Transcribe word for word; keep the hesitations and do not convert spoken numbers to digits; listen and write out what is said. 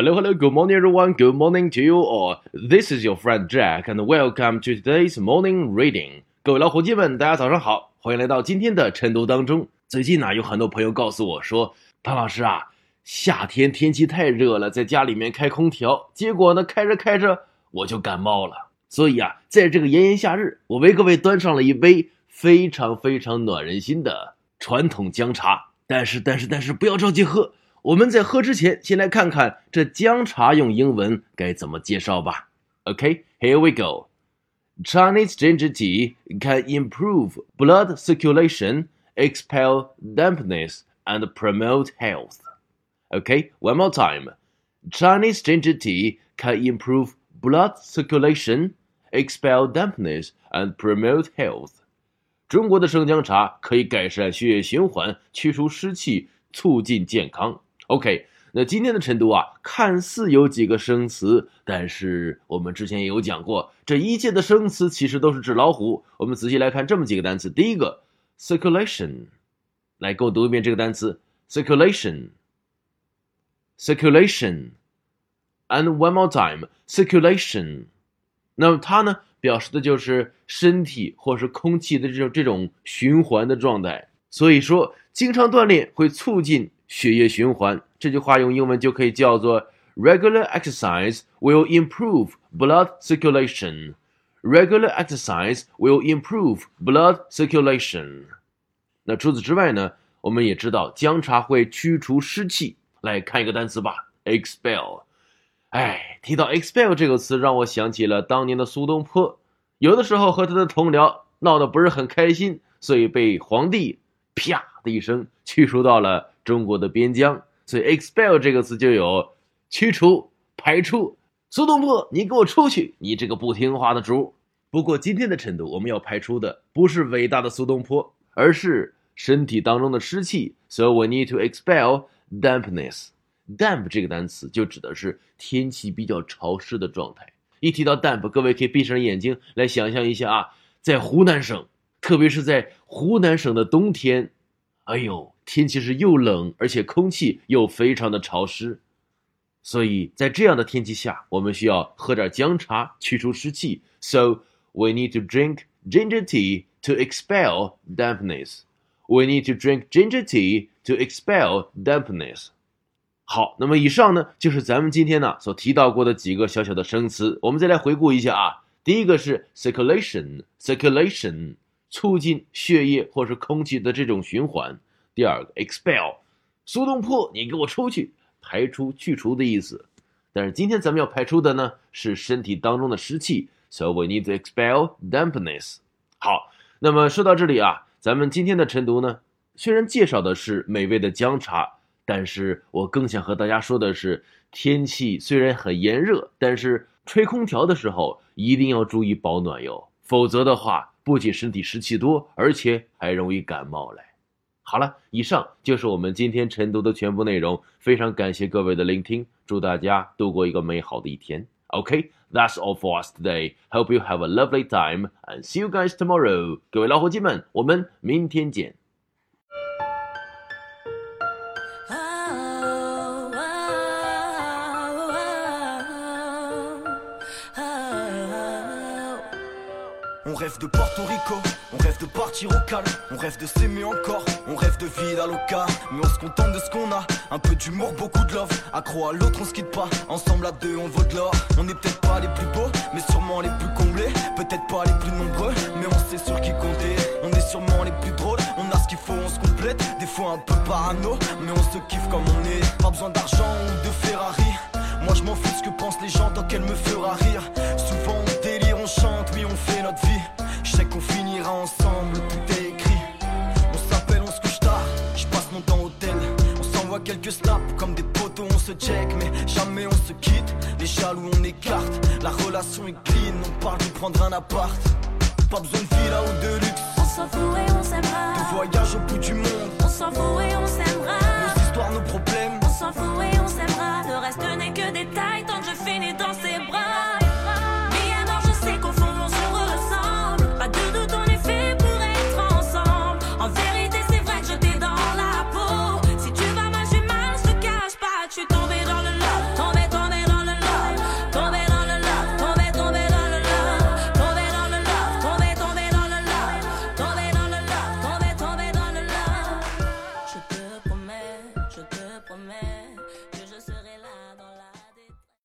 Hello, hello, good morning everyone, good morning to you all. This is your friend Jack and welcome to today's morning reading. 各位老伙计们，大家早上好，欢迎来到今天的晨读当中。最近呢，有很多朋友告诉我说，唐老师啊，夏天天气太热了，在家里面开空调，结果呢，开着开着我就感冒了。所以啊，在这个炎炎夏日，我为各位端上了一杯非常非常暖人心的传统姜茶。但是但是但是不要着急喝，我们在喝之前先来看看这姜茶用英文该怎么介绍吧。 OK, here we go. Chinese ginger tea can improve blood circulation, expel dampness, and promote health. OK, one more time. Chinese ginger tea can improve blood circulation, expel dampness, and promote health. 中国的生姜茶可以改善血液循环，去除湿气，促进健康。 OK, 那今天的晨读啊，看似有几个生词，但是我们之前也有讲过，这一切的生词其实都是纸老虎。我们仔细来看这么几个单词。第一个 circulation， 来跟我读一遍这个单词 circulation circulation and one more time circulation。 那么它呢表示的就是身体或是空气的这种这种循环的状态。所以说经常锻炼会促进血液循环，这句话用英文就可以叫做 Regular exercise will improve blood circulation. Regular exercise will improve blood circulation. 那除此之外呢，我们也知道姜茶会驱除湿气。来看一个单词吧 expel。 哎，提到 expel 这个词，让我想起了当年的苏东坡，有的时候和他的同僚闹得不是很开心，所以被皇帝啪的一声驱逐到了中国的边疆。所以 expel 这个词就有驱除、排除。苏东坡，你给我出去，你这个不听话的主。不过今天的晨读我们要排除的不是伟大的苏东坡，而是身体当中的湿气。 So we need to expel dampness. Damp 这个单词就指的是天气比较潮湿的状态。一提到 damp， 各位可以闭上眼睛来想象一下啊，在湖南省，特别是在湖南省的冬天，哎呦，天气是又冷，而且空气又非常的潮湿。所以在这样的天气下，我们需要喝点姜茶驱除湿气。 So we need to drink ginger tea to expel dampness. We need to drink ginger tea to expel dampness. 好，那么以上呢就是咱们今天呢所提到过的几个小小的生词。我们再来回顾一下啊。第一个是 circulation circulation 促进血液或是空气的这种循环。第二个 expel， 苏东坡你给我出去，排出去除的意思。但是今天咱们要排出的呢是身体当中的湿气。 So we need to expel dampness. 好，那么说到这里啊，咱们今天的晨读呢虽然介绍的是美味的姜茶，但是我更想和大家说的是，天气虽然很炎热，但是吹空调的时候一定要注意保暖哟，否则的话不仅身体湿气多，而且还容易感冒来。好了，以上就是我们今天晨读的全部内容，非常感谢各位的聆听，祝大家度过一个美好的一天。 OK, that's all for us today. Hope you have a lovely time and see you guys tomorrow. 各位老伙计们，我们明天见。 On rêve de Porto Rico, on rêve de partir au calme, on rêve de s'aimer encore, on rêve de vida loca. Mais on se contente de ce qu'on a, un peu d'humour, beaucoup de love. Accro à l'autre, on se quitte pas, ensemble à deux on vaut de l'or. On n'est peut-être pas les plus beaux, mais sûrement les plus comblés. Peut-être pas les plus nombreux, mais on sait sur qui compter. On est sûrement les plus drôles, on a ce qu'il faut, on se complète. Des fois un peu parano, mais on se kiffe comme on est. Pas besoin d'argent ou de Ferrari, moi je m'en fous de ce que pensent les gens tant qu'elle me fera rire. Souvent on délire, on chante, oui on fait notre vie. Je sais qu'on finira ensemble, tout est écrit. On s'appelle, on se couche tard, je passe mon temps au tel. On s'envoie quelques snaps, comme des poteaux on se check. Mais jamais on se quitte, les jaloux on écarte. La relation est clean, on parle de prendre un appart. Pas besoin de villa ou de luxe, on s'en fout et on s'aimera. De voyage au bout du monde, on s'en fout et on s'aimera. Nos histoires, nos problèmes, on s'en fout et on s'aimera. Le reste